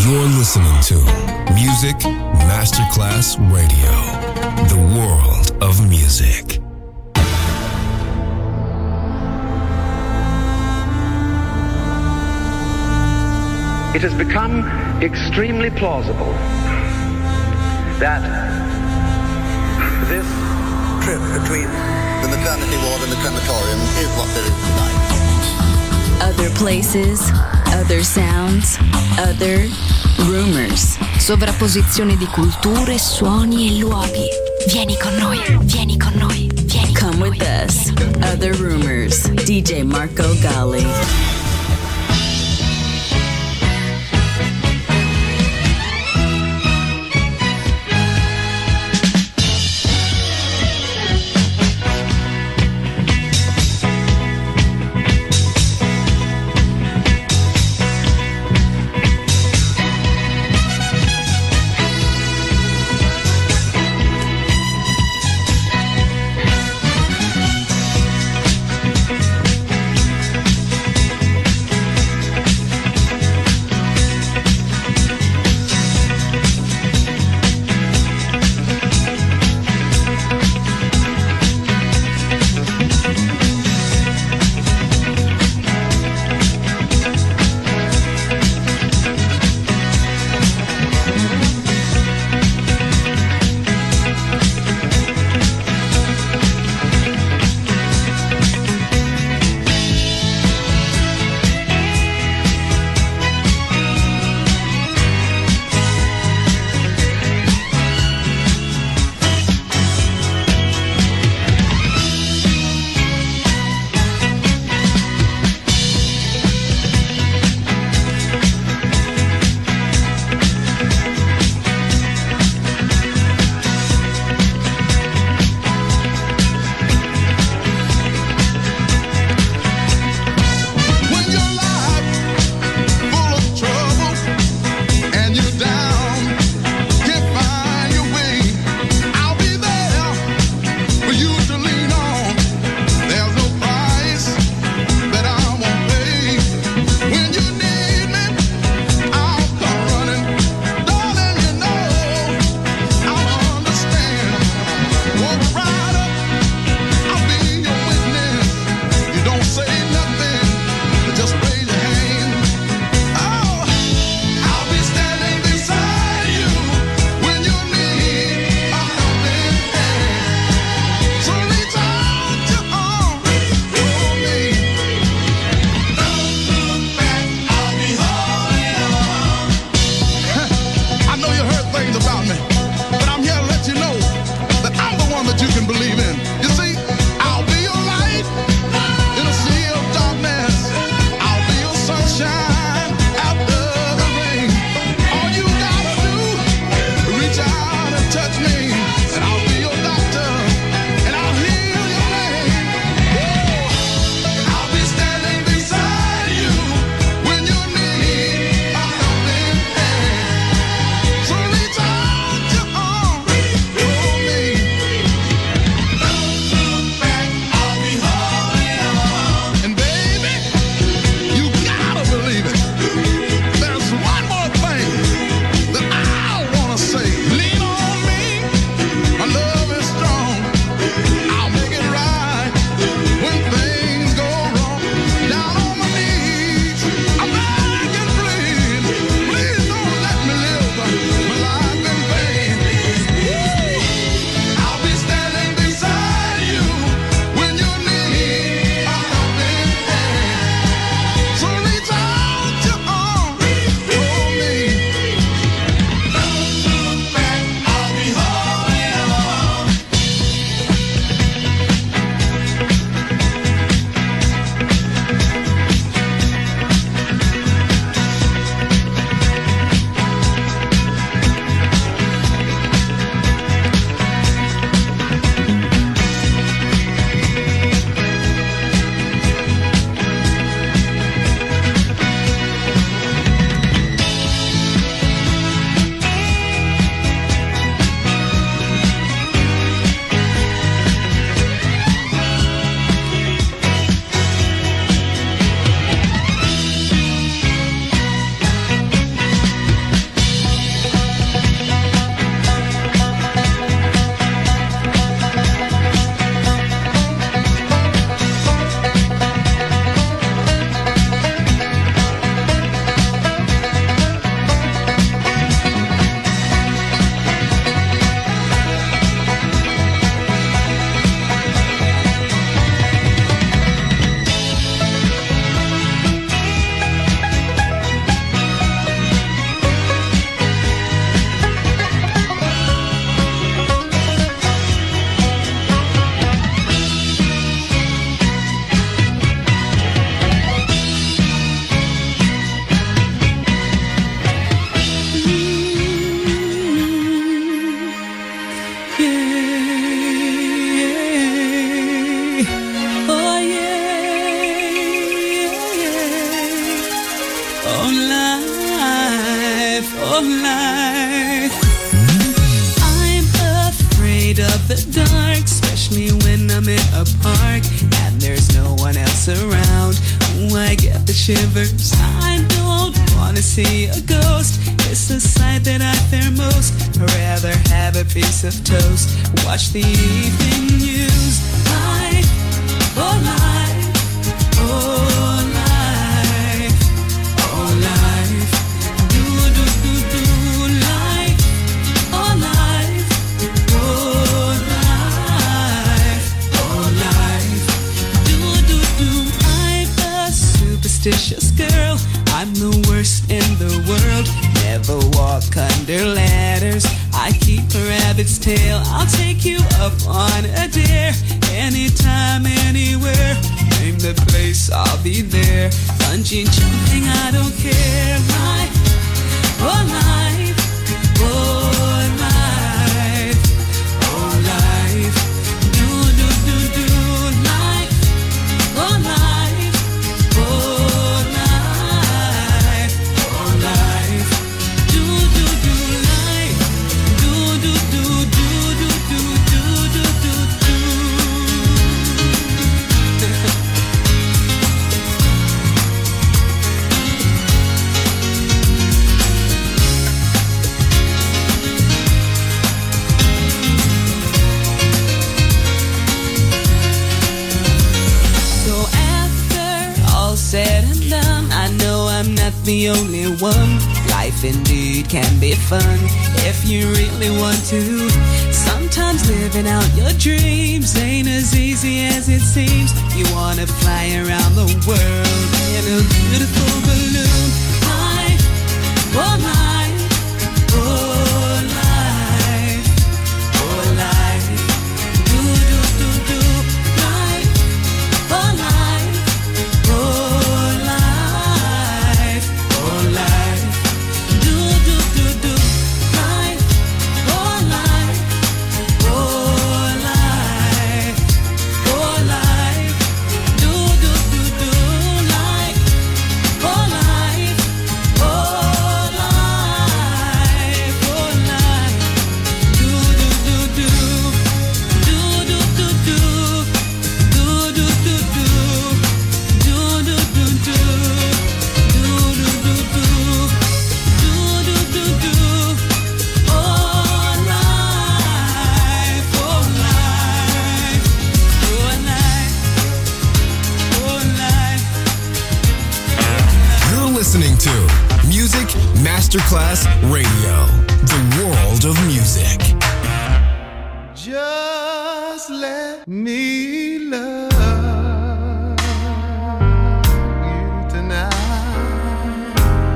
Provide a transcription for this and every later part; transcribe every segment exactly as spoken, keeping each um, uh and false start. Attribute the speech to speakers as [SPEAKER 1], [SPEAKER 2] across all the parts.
[SPEAKER 1] You're listening to Music Masterclass Radio, the world of music.
[SPEAKER 2] It has become extremely plausible that this trip between
[SPEAKER 3] the maternity ward and the crematorium is what there is tonight.
[SPEAKER 4] Other places, other sounds, other rumors. Sovrapposizione di culture, suoni e luoghi. Vieni con noi, vieni con noi, vieni con Come with us. Other Rumors. D J Marco Gally.
[SPEAKER 5] oh life. I'm afraid of the dark, especially when I'm in a park and there's no one else around. Ooh, I get the shivers. I don't wanna see a ghost. It's the sight that I fear most. I'd rather have a piece of toast, watch the evening news. Life, oh life, oh life, oh life. Do do do do life, oh life, oh life, oh life. Do do do. I'm a superstitious girl. I'm the worst in the world. Never walk under ladders. I keep a rabbit's tail. I'll take you up on a dare. Anytime, anywhere. Name the place, I'll be there. Bungee jumping, I don't care. Life, oh life, oh life, oh life. Do do do do life, oh life, oh life, oh life. Do do do life, do do do do do do do do do do. So after all said and done, I know I'm not the only one. Life indeed can be fun if you really want to. Sometimes living out your dreams ain't as easy as it seems. You wanna fly around the world in a beautiful balloon. Life, oh life, oh life, oh life. Do do do do life, oh life, oh life, oh life. Do do do do life, oh life, oh life, oh life. Do do do do life, oh life, oh life, oh life. Do do do do, do do do do, do do do do, do do do do, do do do do. Do do do do, oh life, oh life, oh life, oh life.
[SPEAKER 1] You're listening to Music Masterclass Radio, the world of music.
[SPEAKER 6] Just let me love you tonight.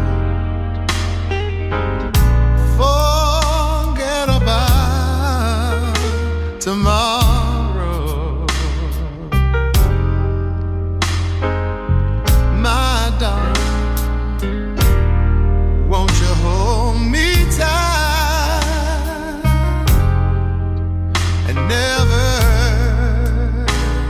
[SPEAKER 6] Forget about tomorrow, my darling. Won't you hold me tight and never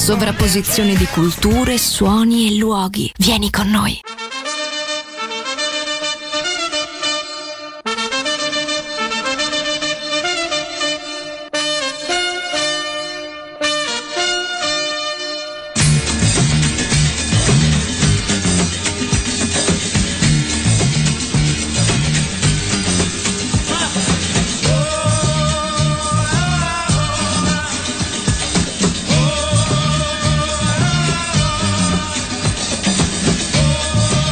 [SPEAKER 4] Sovrapposizione di culture, suoni e luoghi. Vieni con noi.
[SPEAKER 7] Oh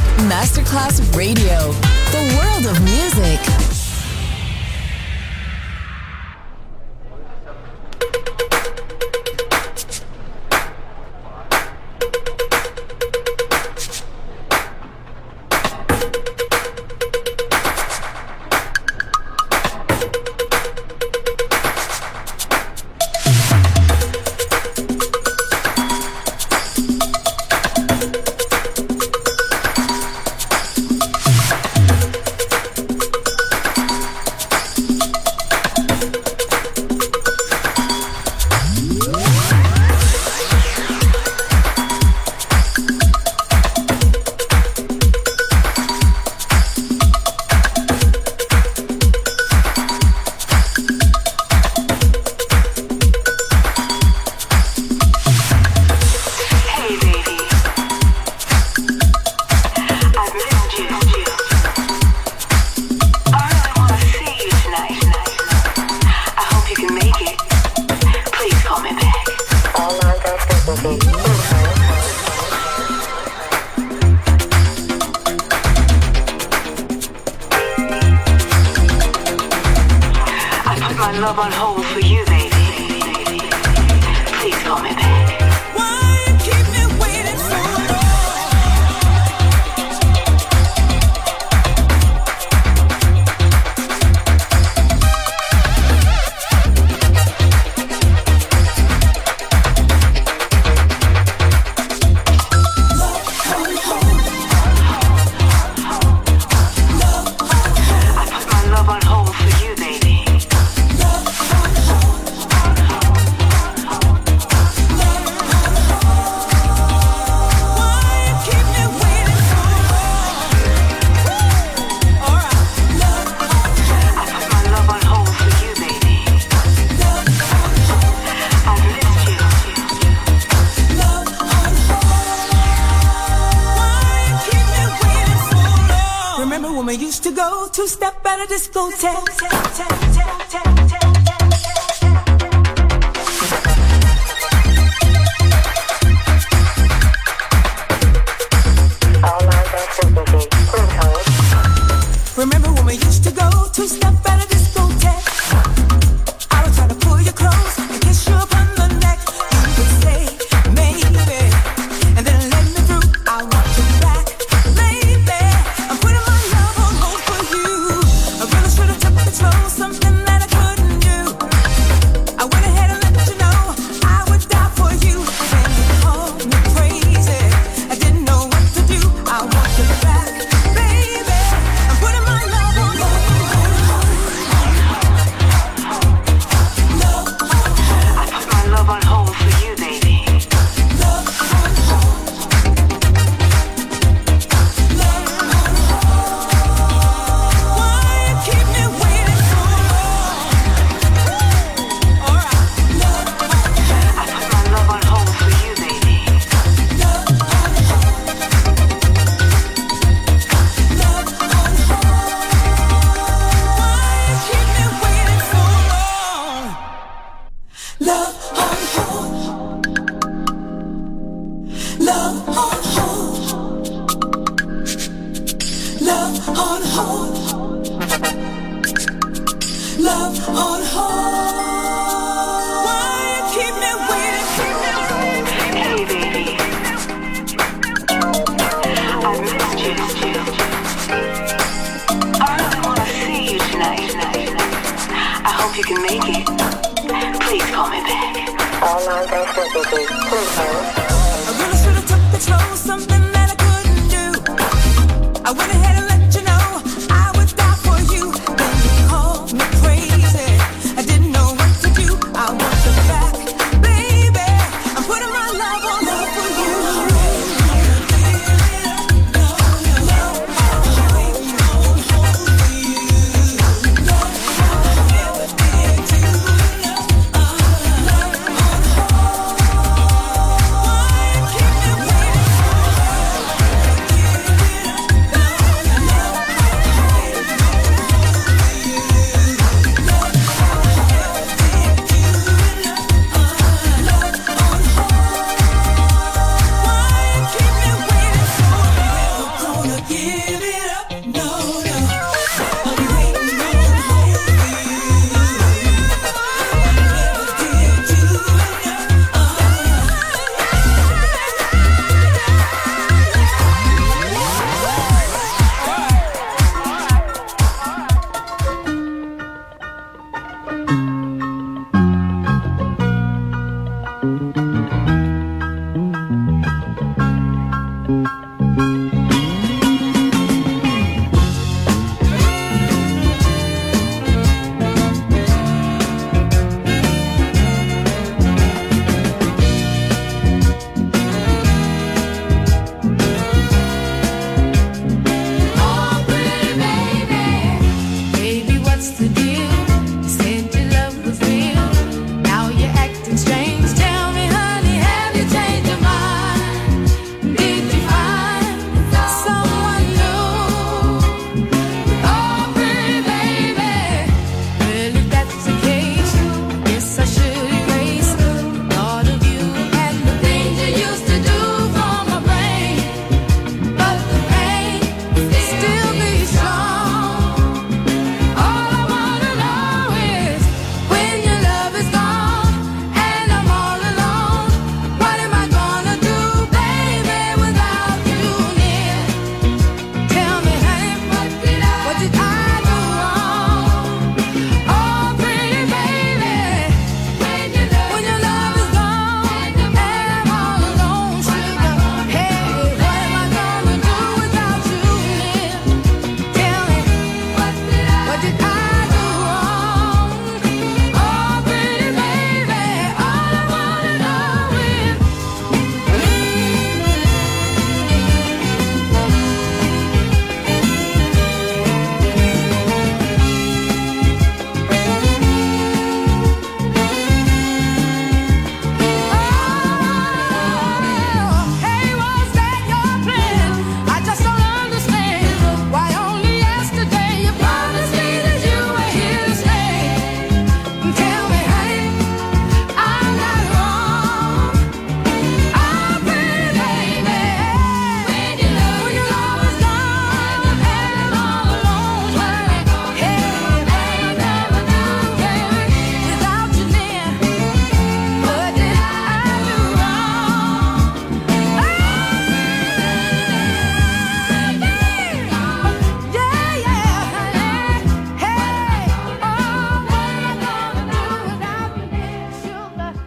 [SPEAKER 7] Masterclass Radio, the world of music.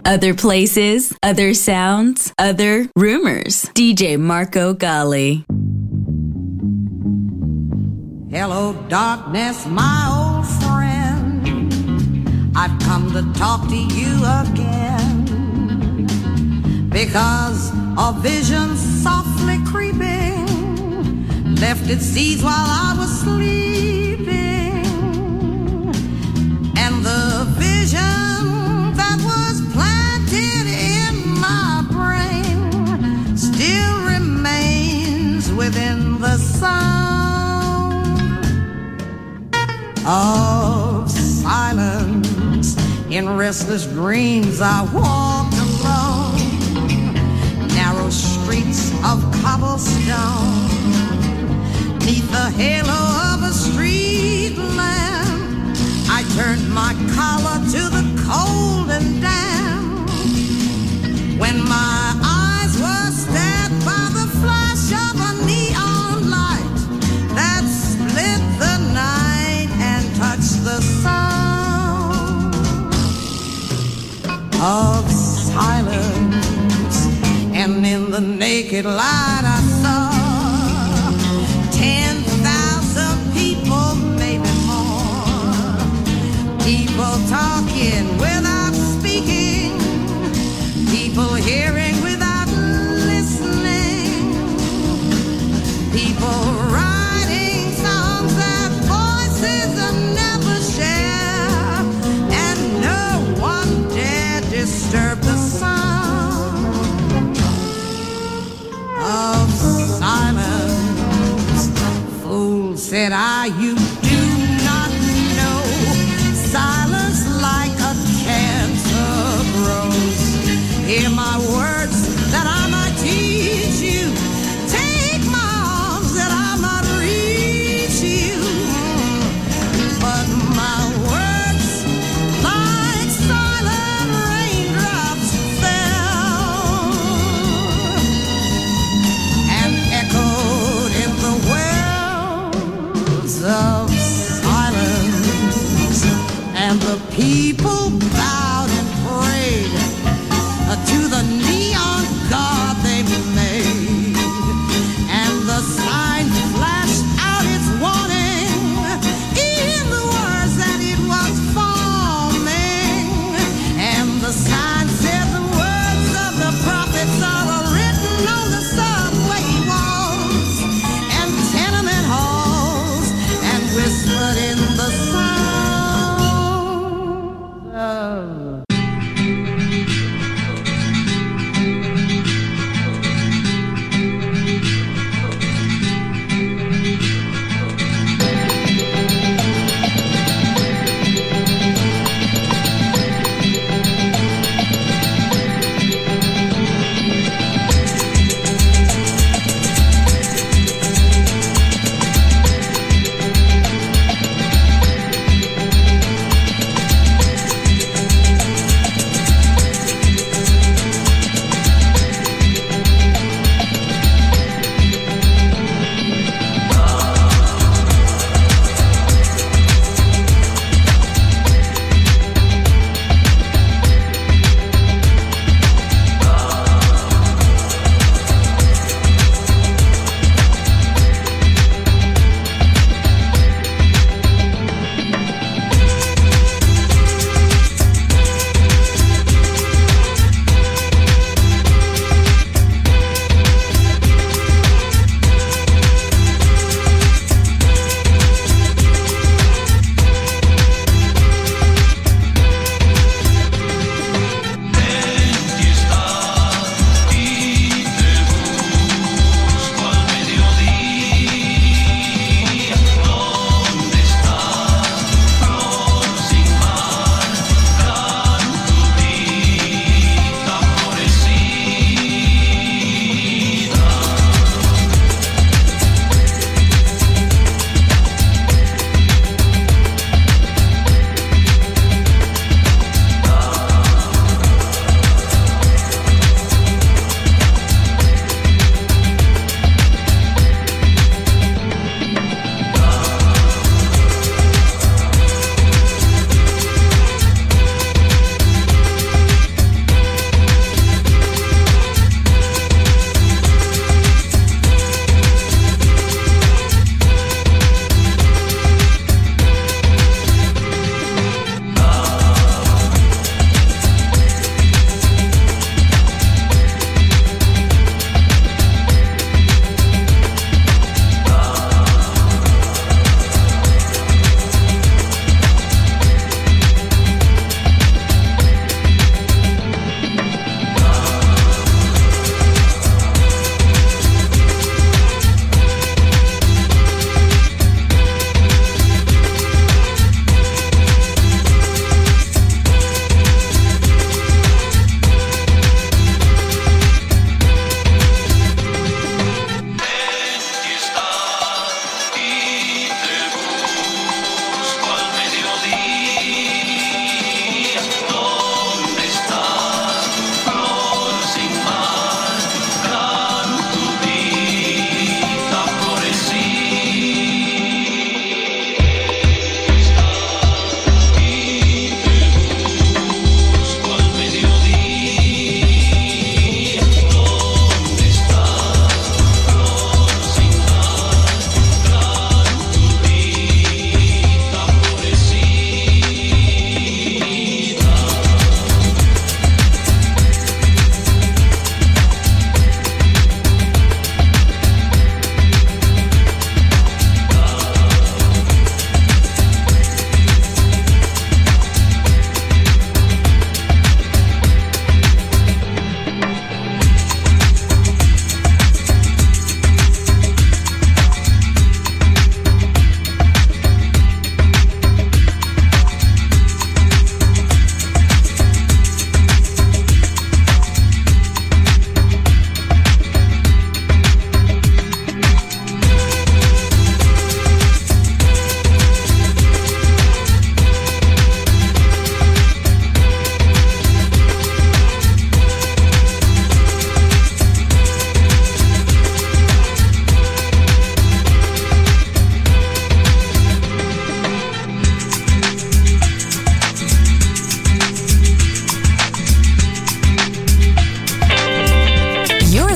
[SPEAKER 4] Other places, other sounds, other rumors. D J Marco Gally.
[SPEAKER 8] Hello, darkness, my old friend. I've come to talk to you again because a vision softly creeping left its seeds while I was sleeping, and the vision that was planted in my brain still remains within the sound of silence. In restless dreams I walked alone, narrow streets of cobblestone, neath the halo of a street lamp. I turned my collar to the cold and damp, when my eyes were stabbed by the flash of a neon light that split the night and touched the sound of silence. And in the naked light I saw ten thousand people, maybe more. People talking without speaking, people hearing without listening, people writing songs that voices never share, and no one dare disturb the sound of silence. Fool, said I, you do not know. Silence like a cancer grows. Hear my words that I might teach you. Take my arms that I might reach you. But my words, like silent raindrops, fell and echoed in the wells of silence. And the people bowed and prayed to the neon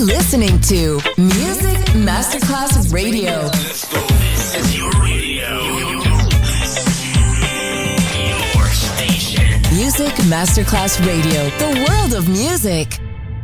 [SPEAKER 7] You're listening to Music Masterclass Radio.
[SPEAKER 1] Let's go. This is your radio. Your station.
[SPEAKER 7] Music Masterclass Radio. The world of music.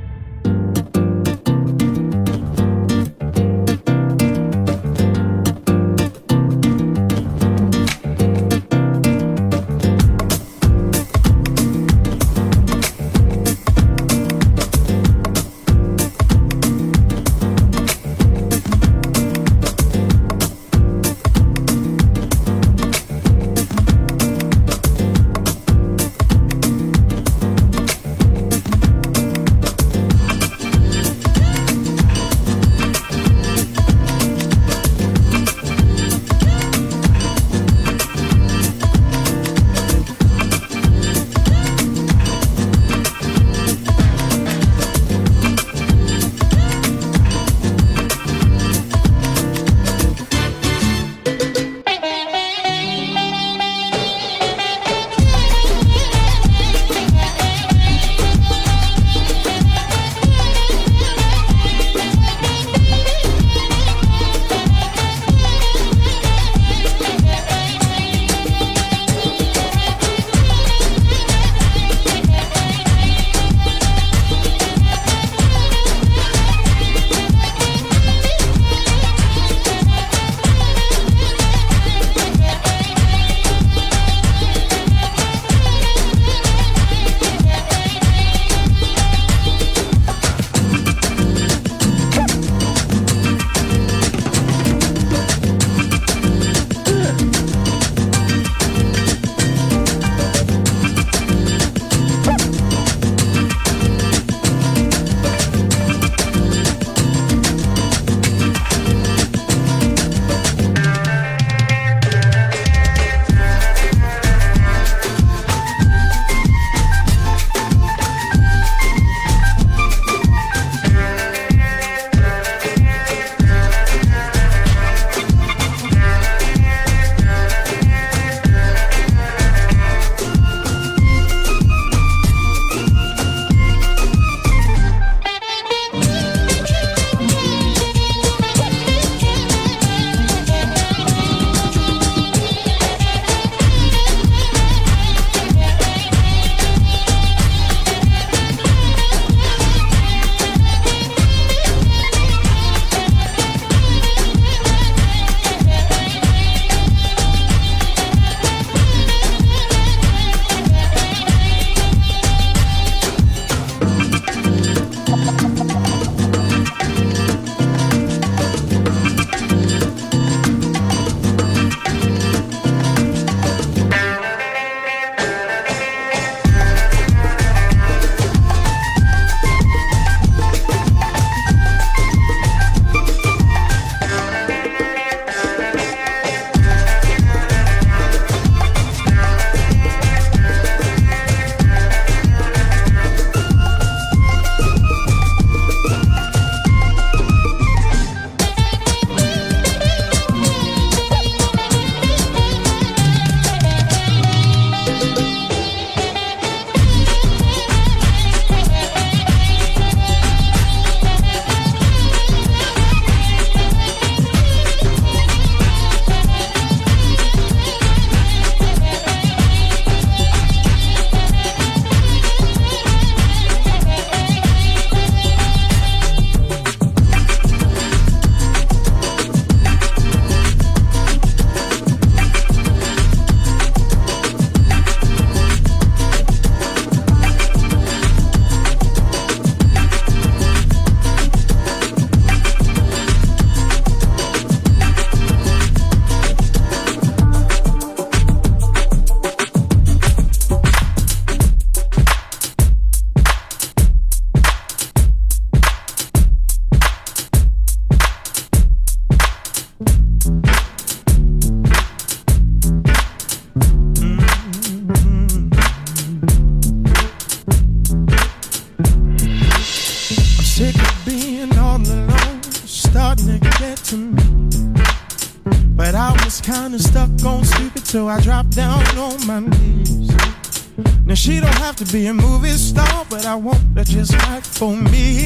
[SPEAKER 9] kinda stuck on stupid, so I dropped down on my knees. Now she don't have to be a movie star, but I want her just right for me.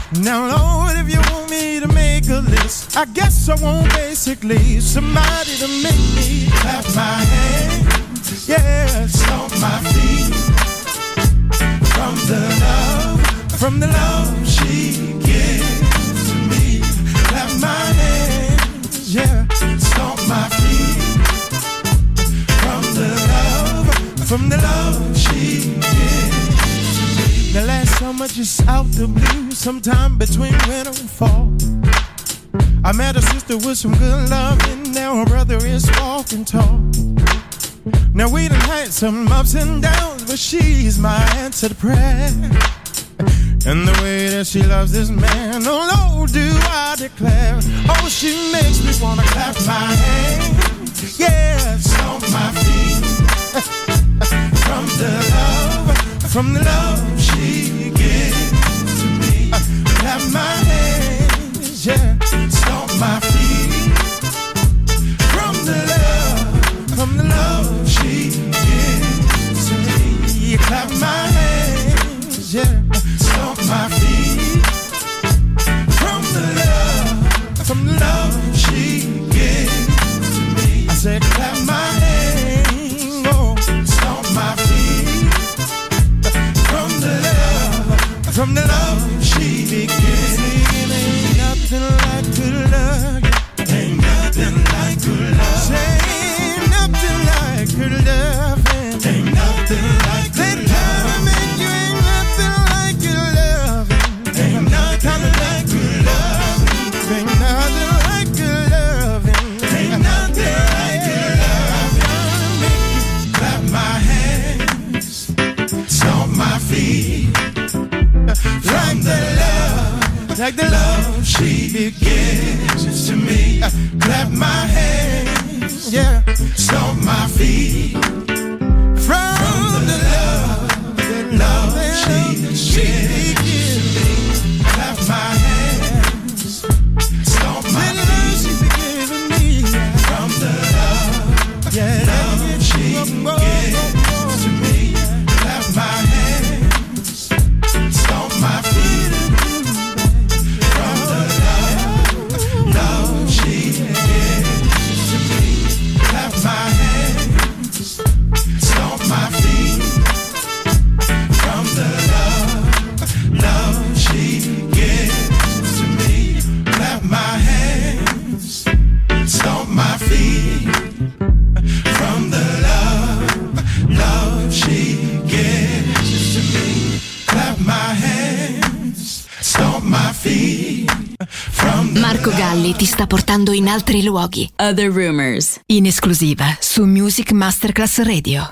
[SPEAKER 9] Now, Lord, if you want me to make a list, I guess I want basically somebody to make me clap my hands, yeah, stomp my feet. From the love, from the love she gives to me. Clap my hands, yeah, stomp my feet. From the love, from the love she gives to me. The last summer just out the blue, sometime between winter and fall, I met a sister with some good love, and now her brother is walking tall. Now we done had some ups and downs, but she's my answer to prayer. And the way that she loves this man, oh Lord, do I declare. Oh, she makes me wanna clap my hands, yeah, stomp my feet. From the love, from the love she gives to me. Clap my hands, yeah, stomp my feet. From the love, from the love she gives to me. You clap my hands, yeah, stomp my feet. From the love, from the love she gives to me. I said clap my hands, oh, stomp my feet. From the love, from the love she gives me. Ain't nothing like good love. Ain't nothing like good love. Say ain't nothing like good love. Ain't nothing like good love. Make you ain't nothing like good love. Ain't nothing like good love. Ain't nothing like good love. Ain't nothing like good love. Make you clap my hands, stomp my feet. Like the love, like the love she gives to me. Clap my hands, yeah, stomp my feet. From the love, the love she gives to me. Clap my hands, stomp my feet. From the love, yeah, love she gives to me. Clap my hands, stomp my feet. From the love, love she gives to me. Clap my hands, stomp my feet. From the love, love she gives to me. Clap my hands, stomp my feet. From the love, love she gives to me. Clap my hands, stomp my feet.
[SPEAKER 4] Marco Galli ti sta portando in altri luoghi. Other Rumors, in esclusiva su Music Masterclass Radio.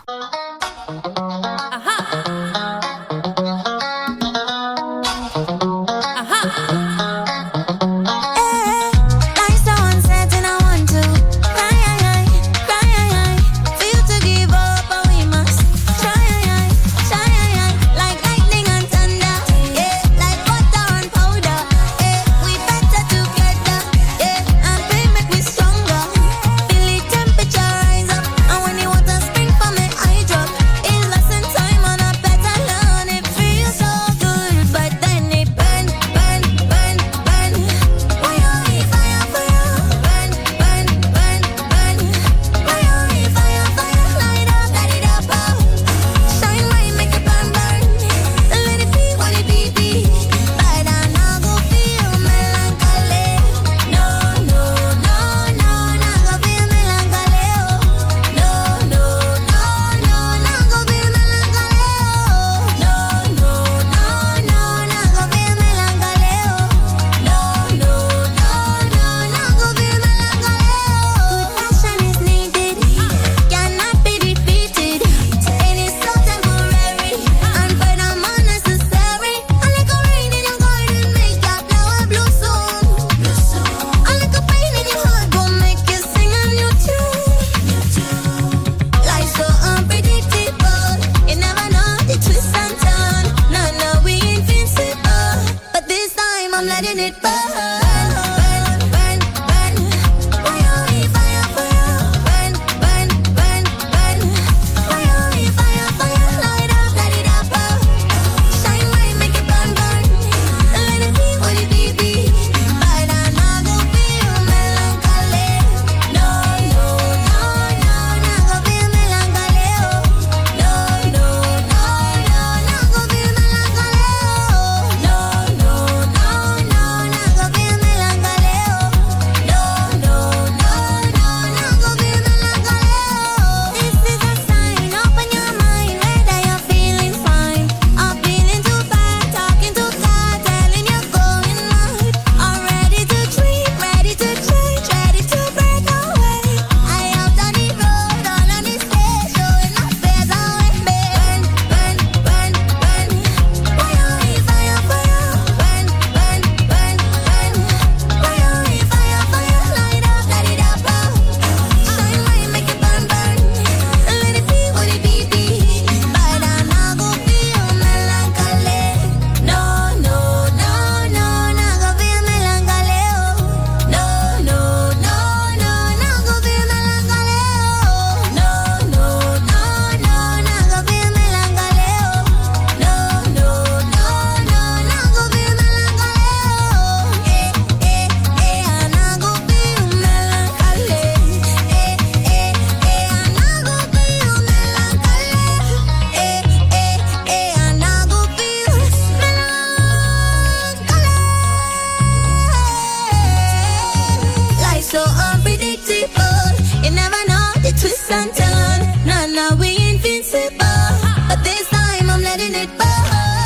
[SPEAKER 10] and turn. Nah, nah, we invincible. But this time I'm letting it burn.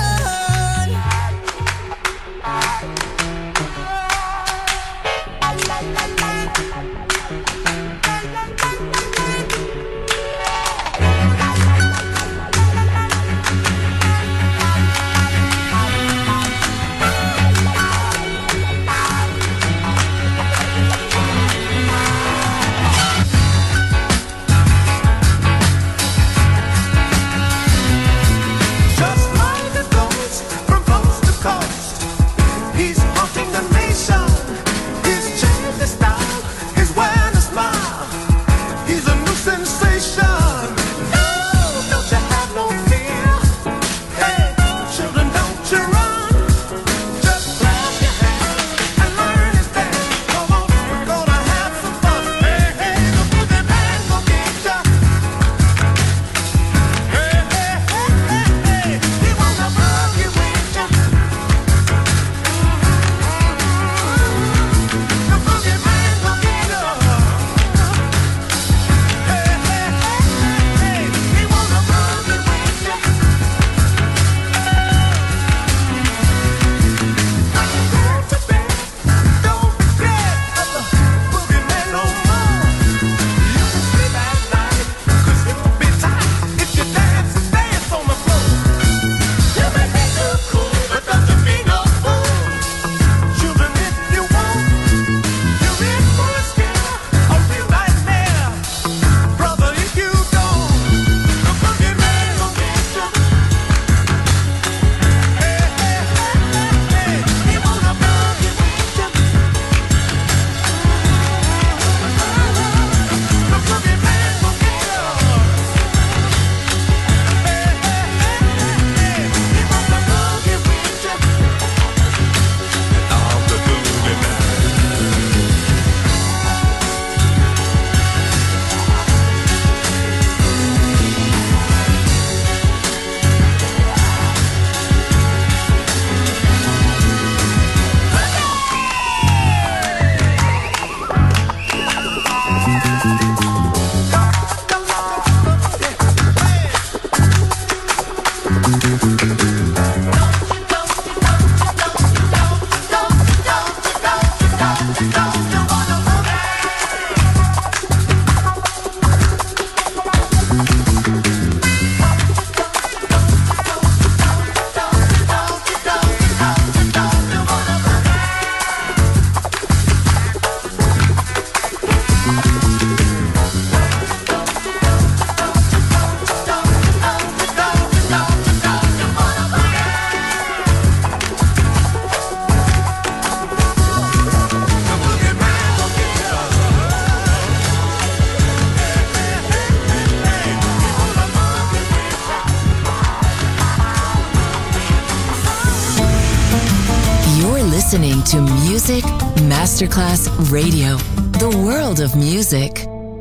[SPEAKER 7] Listening to Music Masterclass Radio, the world of music.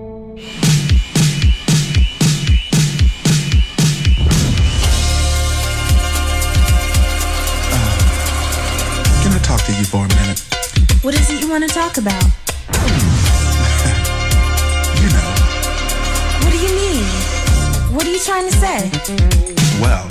[SPEAKER 11] Uh, can I talk to you for a minute?
[SPEAKER 12] What is it you want to talk about?
[SPEAKER 11] You know.
[SPEAKER 12] What do you mean? What are you trying to say?
[SPEAKER 11] Well,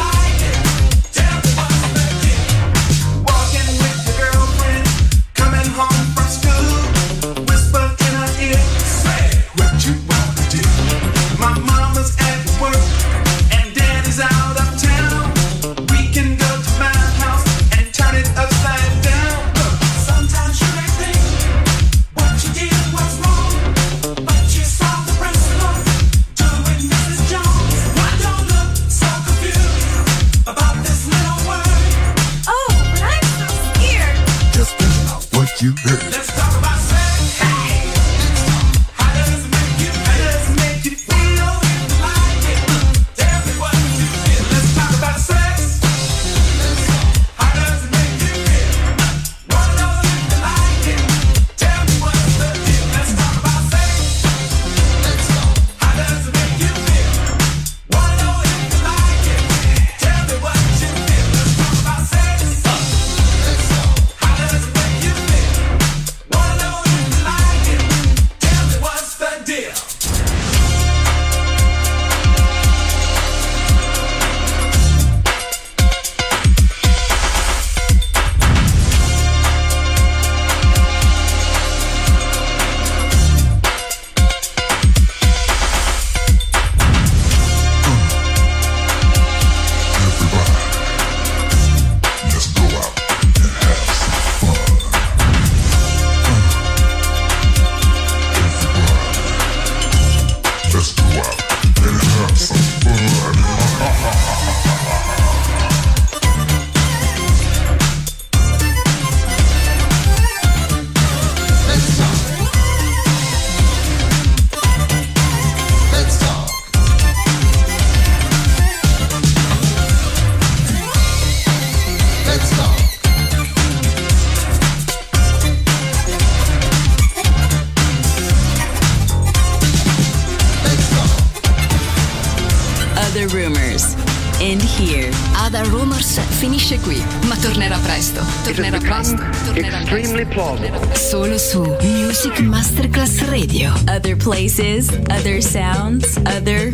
[SPEAKER 13] Coming
[SPEAKER 4] end here. Other Rumors finisce qui, ma tornerà presto. Tornerà presto. Tornerà presto. Solo su Music Masterclass Radio. Other places, other sounds, other